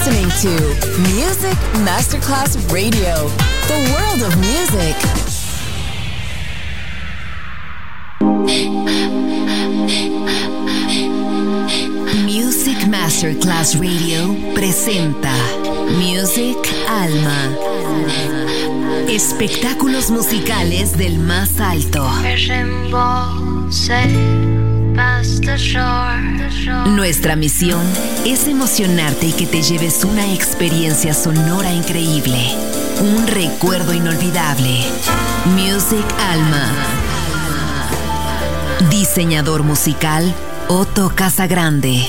listening to Music Masterclass Radio, the world of music. Music Masterclass Radio presenta Music Alma. Espectáculos musicales del más alto. Nuestra misión es emocionarte y que te lleves una experiencia sonora increíble, un recuerdo inolvidable. Music Alma. Diseñador musical Otto Casagrande.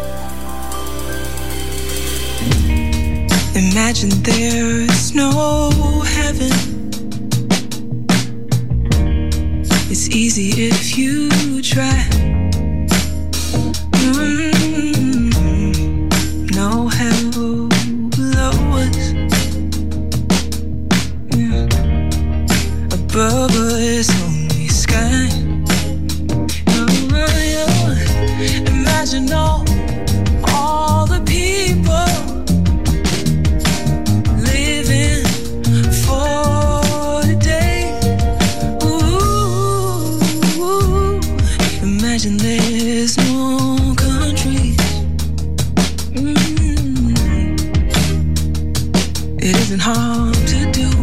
Imagine there is no heaven. It's easy if you try. No hell below us. Above us only sky. Imagine all the people living for today. Ooh, imagine there's no countries. It isn't hard to do.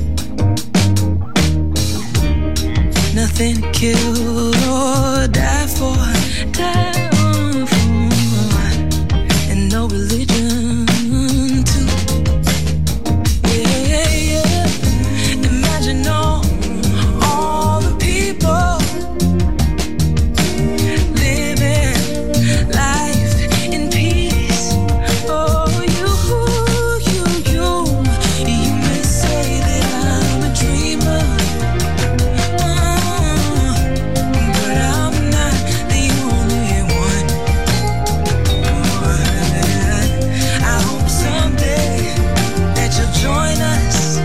Nothing to kill or die for. And no religion too. Yeah. Imagine all the people living life in peace. Oh, you may say that I'm a dreamer, but I'm not the only one. I hope someday that you'll join us.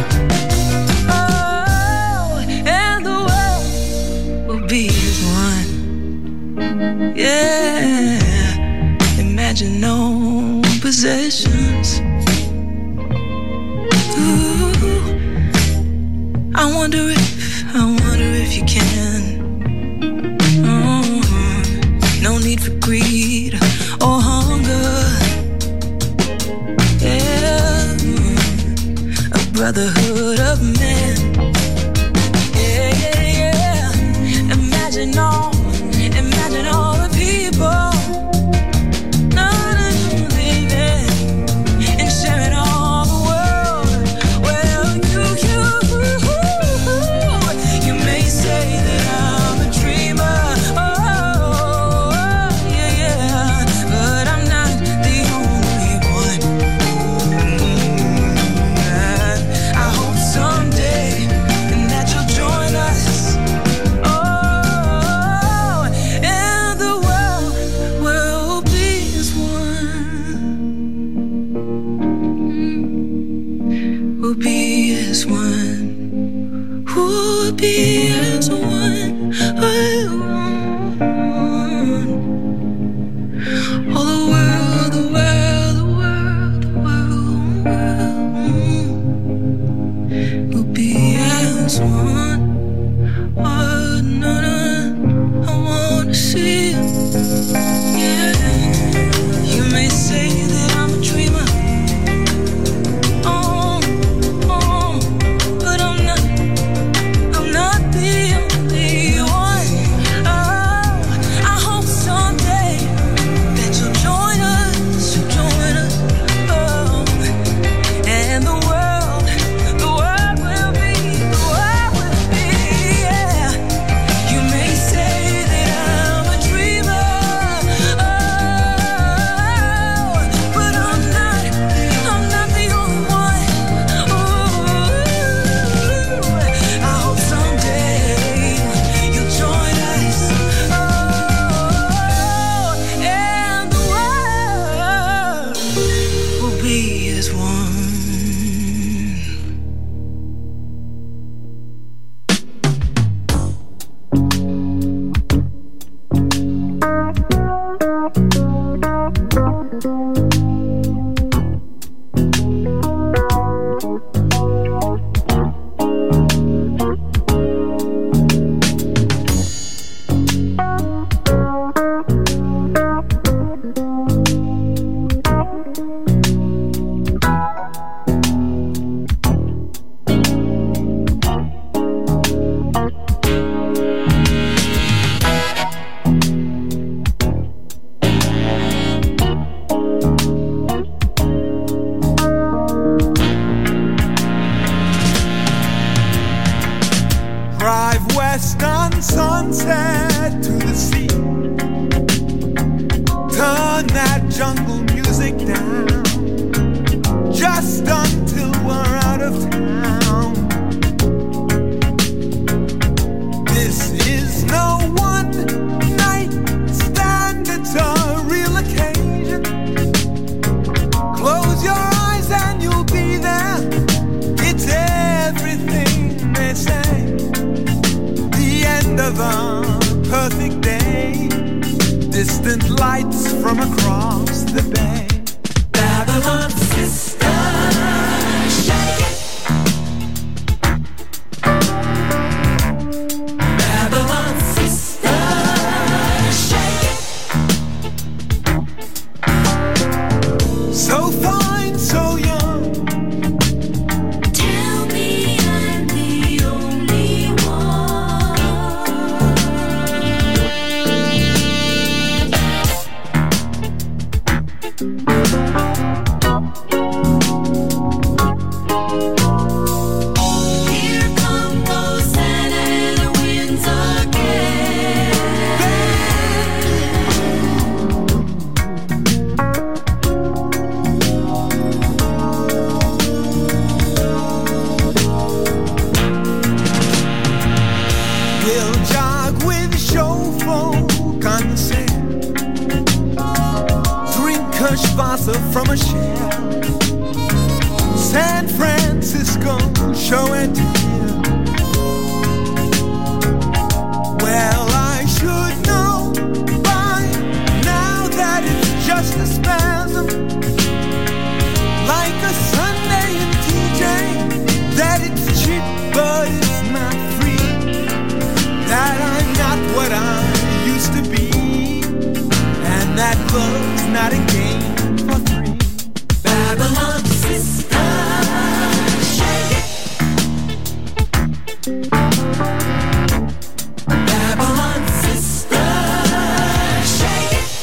Oh, and the world will be as one. Yeah. Imagine no possessions. Ooh. I wonder if you can. No need for greed or hunger. Yeah, a brotherhood of men. Yeah. Imagine all the people living and sharing all the world. Well, you may say that I'm a dreamer. Oh, yeah, but I'm not the only one. I hope someday that you'll join us. Oh, and the world will be as one. We'll be as one. We'll be as one. All the world, the world, the world, the world, we'll be as one. Oh, no, I wanna see you. Yeah, you may say that I'm a dreamer. Oh, but I'm not the only one. Oh, I hope someday that you'll join us. Oh, and the world will be, yeah. You may say that I'm a dreamer. Oh, but I'm not the only one. Ooh, I hope someday you'll join us. Oh, and the world will be as one. music down, just until we're out of town. This is no one night stand, it's a real occasion. Close your eyes and you'll be there. It's everything they say. The end of a perfect day. Distant lights from across the bay. Babylon sister, shake it. Babylon sister, shake it. So fine, so young. Tell me I'm the only one. Here come those Santa winds again. We'll jog with show folk on the sand. Drink Kirschwasser from a shell. San Francisco, show and tell. Well, I should know by now that it's just a spasm, like a Sunday in TJ, that it's cheap but it's not free, that I'm not what I used to be, and that love's not a game for three. Babylon sister, shake it. Babylon sister, shake it.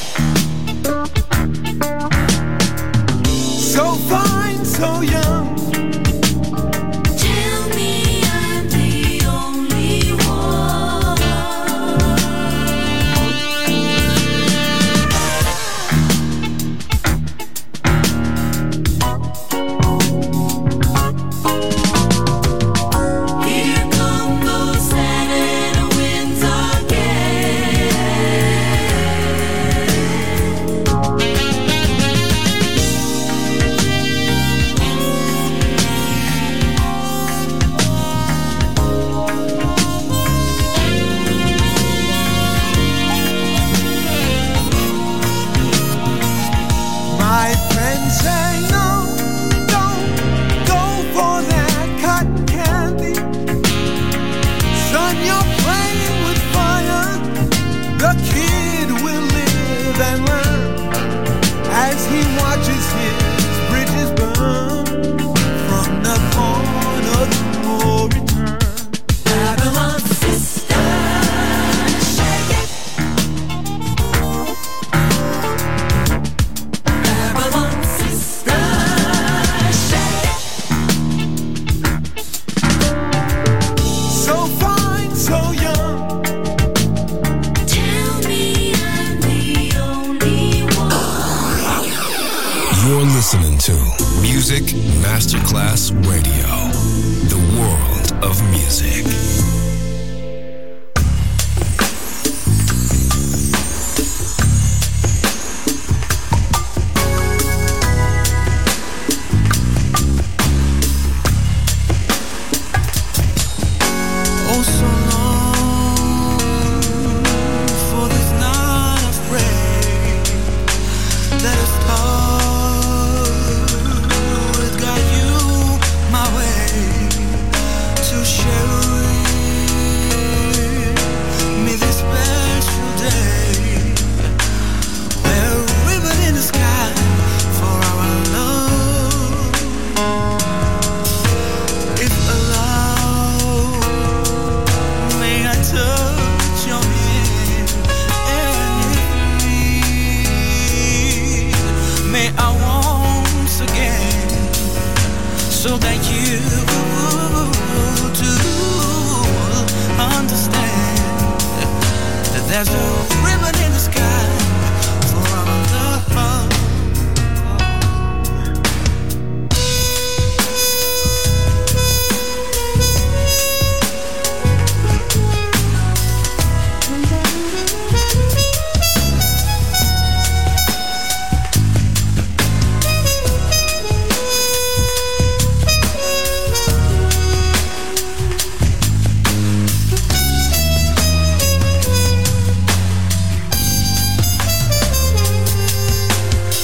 So fine, so young. Tell me I'm the only one. Here come those Santa winds again. My friends say no, don't go for that cotton candy. Son, you're playing with fire. The kid will live and learn as he watches his bridges burn from the corner of no return. Babylon sister, shake it. Babylon sister, shake it. So fine, so young. Tell me I'm the only one. You're listening to Music Masterclass Radio, the world of music. Oh, so long for this night of rain that has started, got you my way to share me this special day. We're a ribbon in the sky for our love. If allowed, may I touch your hand, and if need, may I once again, so that you too understand that there's a ribbon in the sky for our love.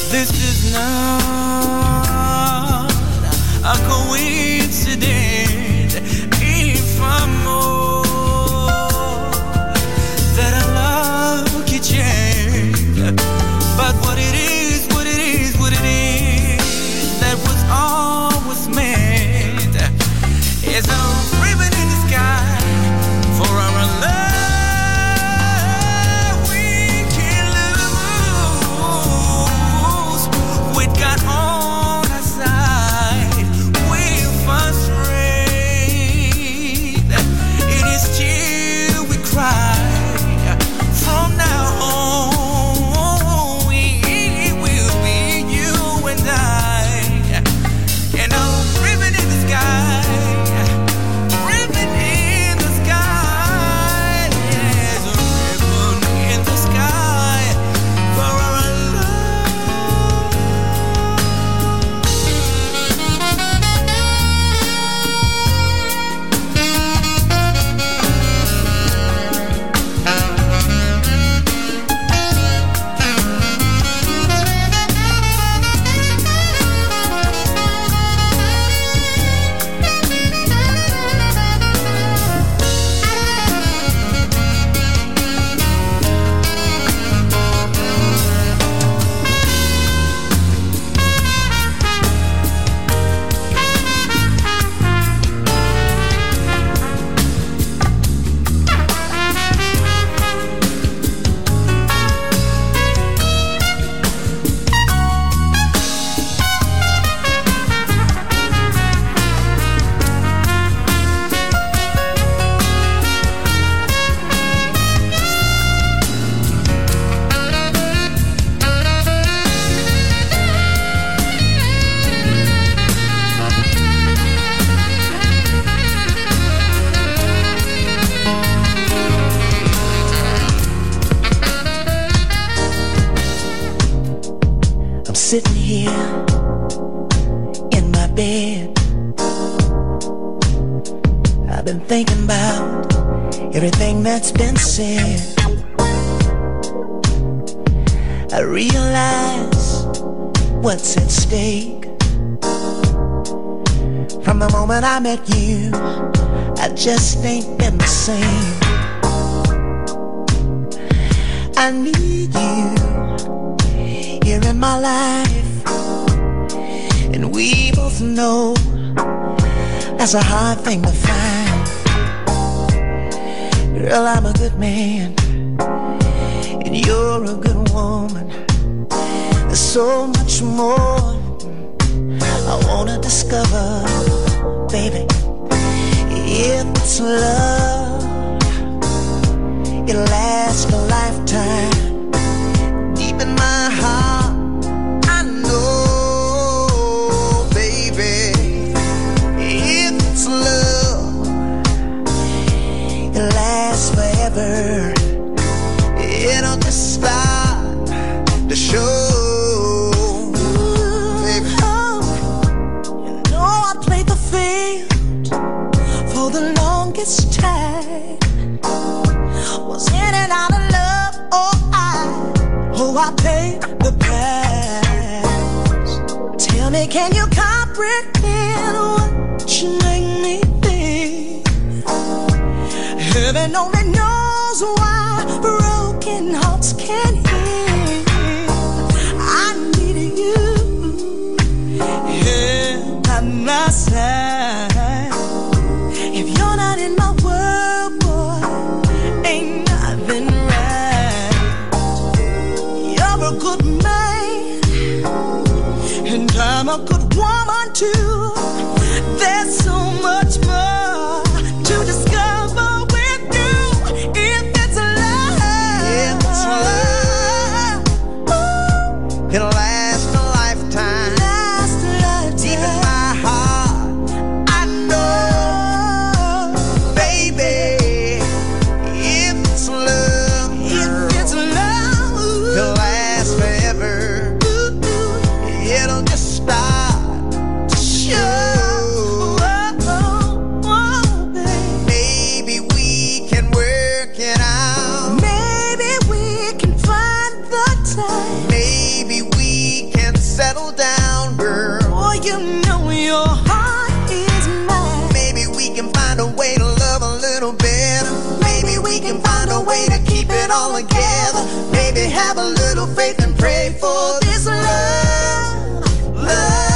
This is not a coincidence. If I'm more that I love can change, but what it is, what it is, what it is that was always meant is a ribbon in the sky for our love. Got on our side, we frustrate. It is till we cry. From now on, we will be you and I. And a ribbon in the sky, ribbon in the sky, there's a ribbon in the sky for our sitting here in my bed. I've been thinking about everything that's been said. I realize what's at stake. From the moment I met you, I just ain't been the same. I need you here in my life, and we both know that's a hard thing to find. Girl, I'm a good man, and you're a good woman. There's so much more I wanna discover, baby. If it's love, it'll last a lifetime. Deep in my heart, I know, baby, if it's love, it'll last forever. It'll just start to show. Time was in and out of love. I paid the price. Tell me, can you comprehend what you make me think? Heaven only knows why broken hearts can't heal. I need you here by my side. If you're not in my world, boy, ain't nothing right. You're a good man, and I'm a good woman too. There's so much more to discover with you. If it's love, ooh, it'll last a lifetime. Last a lifetime. Deep in my heart, I know, baby, if it's love, it'll last forever. It'll just start to show. Maybe we can work it out. Maybe we can find the time. Maybe we can settle down, girl. Boy, you know your heart is mine. Maybe we can find a way to love a little better. Maybe we can find a way to keep it all together. Maybe have a little faith and pray for this love. Love.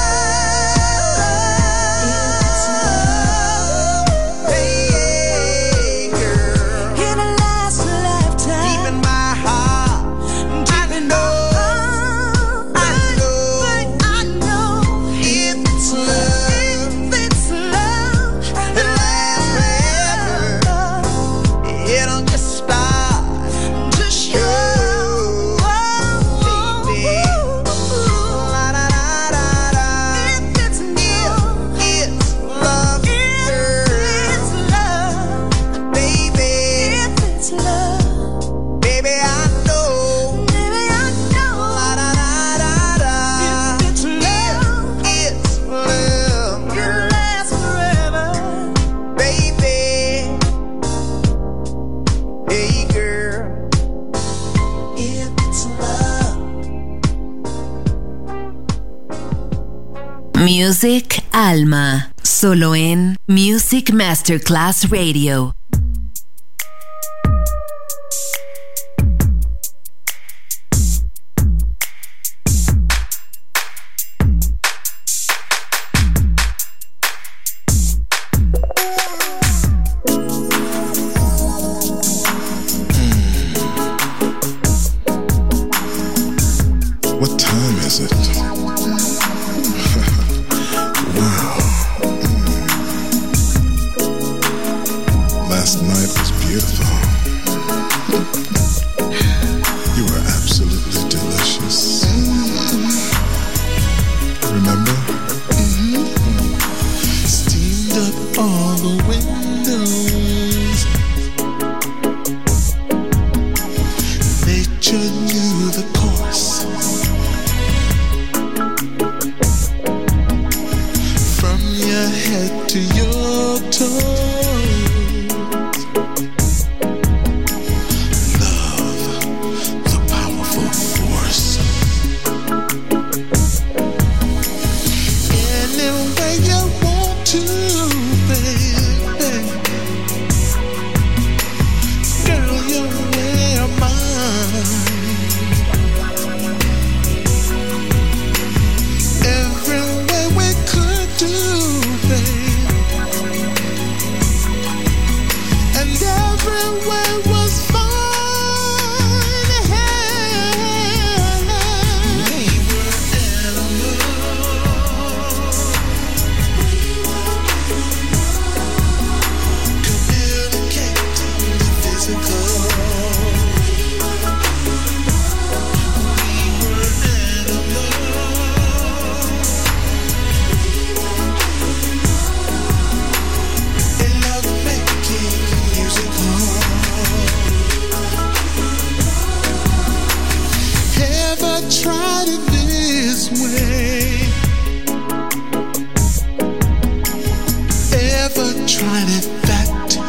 Music Alma, solo en Music Masterclass Radio. What time is it? Wow. Last night was beautiful. You were absolutely delicious. Remember? Steamed up all the windows. Nature knew the course. From your head to your toes. Love, the powerful force. Any way you want to, baby. Girl, you're way of mine. Every way we could do, babe. And every way was fine. We were animals. Communicating the physical. We were animals. In love making musical. Ever tried it this way? Ever tried it that?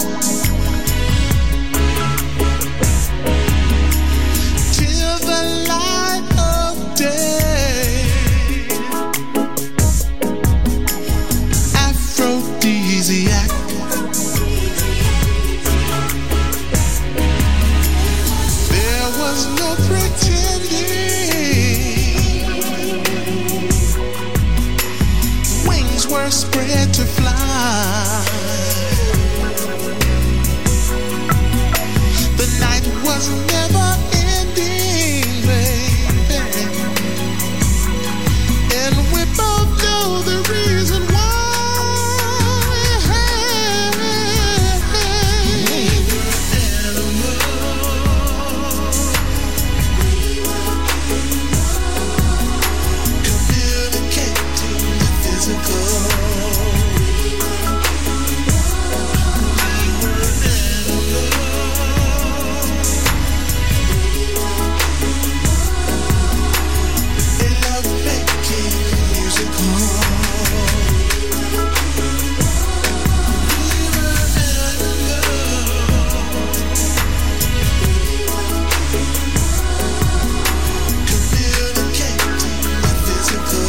Till the light of day. Aphrodisiac. There was no pretending. Wings were spread to fly. The night was never ending, baby. And we both know the reason why. We were animals. Communicating the physical. We were animals. In love making musical. We were animals. Communicating the physical.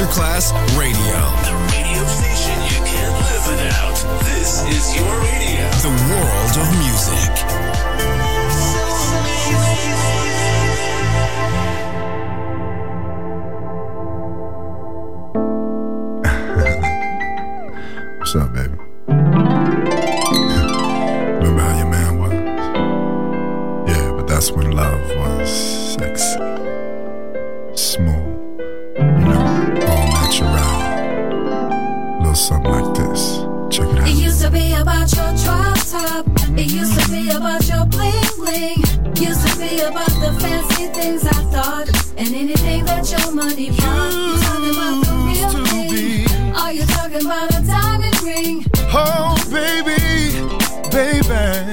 Masterclass Radio. The radio station you can't live without. This is your radio. The world of music. What's up, baby? Remember how your man was? Yeah, but that's when love was sexy, smooth, you know, all natural. A little something like this. Check it out. It used to be about your drop top. It used to be about your bling bling. Used to be about the fancy things I thought, and anything that your money bought. You talking about the real thing? Are you talking about a diamond ring? Oh, baby, baby.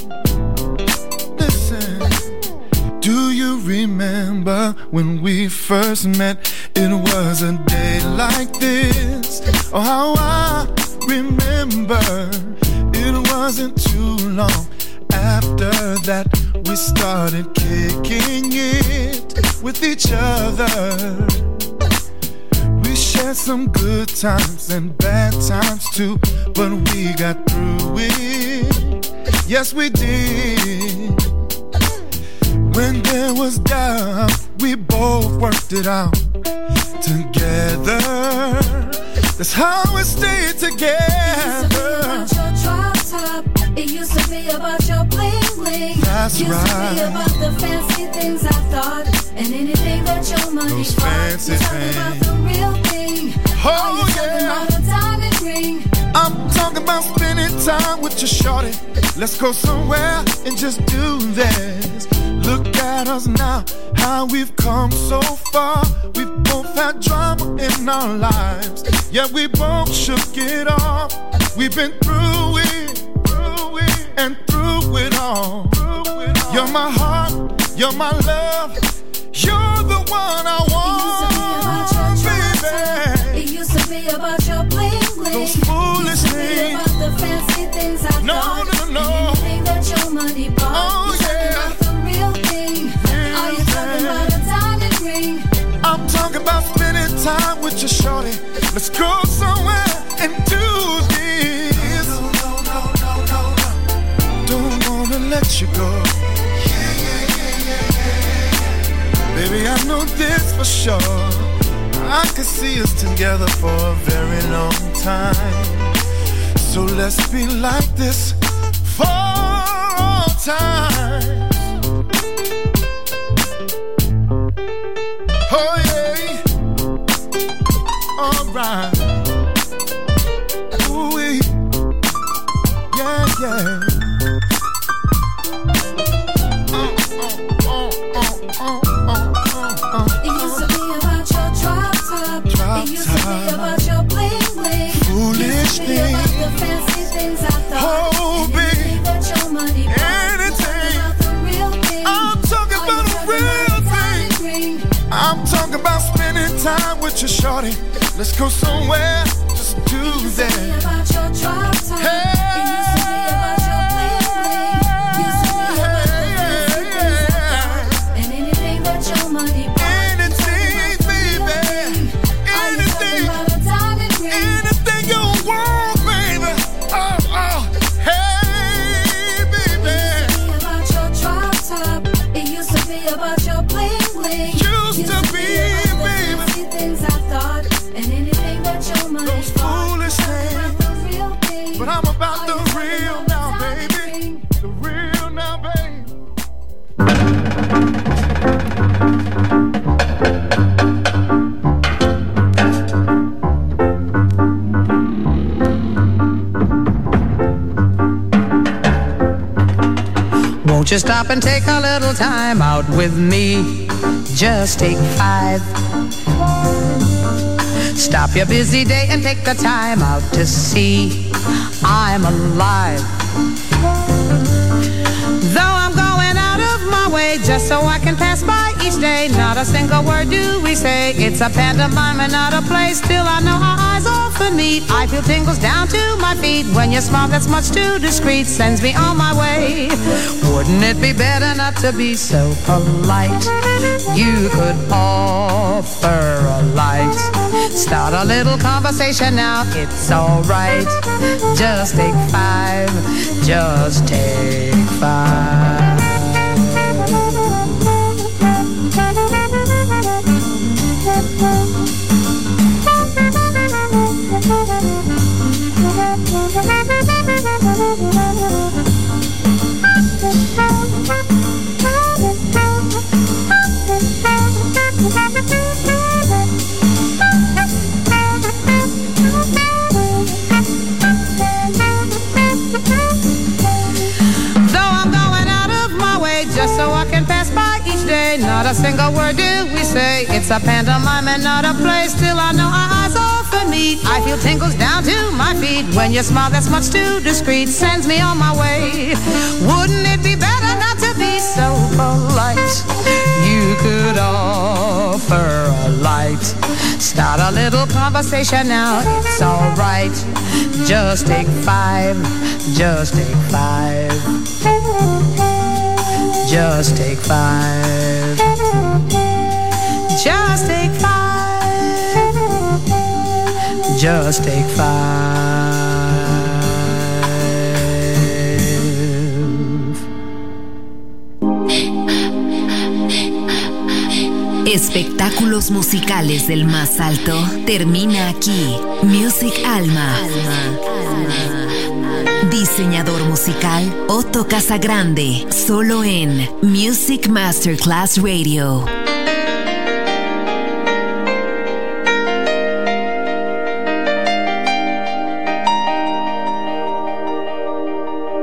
Listen. Do you remember when we first met? It was a day like this. Oh, how I remember. It wasn't too long after that we started kicking it with each other. We shared some good times and bad times too, but we got through it. Yes, we did. When there was doubt, we both worked it out together. That's how we stayed together. It used to be about your bling bling. That's used right. Used to be about the fancy things I thought, and anything that your money Those bought. fancy You're talking about the real thing. Oh, are you talking yeah. about a diamond ring? I'm talking about spending time with your shorty. Let's go somewhere and just do this. Look at us now, how we've come so far. We've both had drama in our lives, yet we both shook it off. We've been through it, and through it all. You're my heart, you're my love, you're the one I want, baby. It used to be about your bling bling. Those foolish things. About the fancy things I thought. No. Anything that your money bought. Oh, You're talking about the real thing. Are you talking about a diamond ring? I'm talking about spending time with your shorty. Let's go somewhere and do this. Don't wanna let you go. Baby, I know this for sure. I could see us together for a very long time. So let's be like this for all time. Oh yeah, alright. Ooh-wee. Yeah. It used to be about your drop top. It used to be about your bling bling. Foolish used to be about the fancy things I thought. Oh, baby. That your money bought. Anything. About the real thing. I'm talking about a real thing. I'm talking about spending time with your shorty. Let's go somewhere, just do that. It used to be about your drop top. It used to be about your bling bling. Used to be about the fancy things I thought. And anything that your money bought. Anything, baby. Anything. Anything you want, baby. Oh, hey, baby. It used to be about your drop top. It used to be about your bling bling. Used to be, baby. Things I thought, and anything that your money Those foolish things. But I'm about the real now, baby. The real now, baby. Won't you stop and take a little time out with me? Just take 5. Stop your busy day and take the time out to see I'm alive. Though I'm going out of my way just so I can pass by each day, not a single word do we say. It's a pantomime and not a play. Still I know our eyes often meet. I feel tingles down to my feet when your smile that's much too discreet sends me on my way. Wouldn't it be better not to be so polite? You could offer a light Start a little conversation now, it's alright. Just take 5, just take 5. Not a single word do we say. It's a pantomime and not a play. Still I know our eyes often meet. I feel tingles down to my feet. When you smile that's much too discreet, sends me on my way. Wouldn't it be better not to be so polite? You could offer a light. Start a little conversation now, it's alright. Just take 5, just take 5. Just take 5. Just take 5. Just take 5. Espectáculos musicales del más alto termina aquí. Music Alma. Diseñador musical Otto Casagrande, solo en Music Masterclass Radio.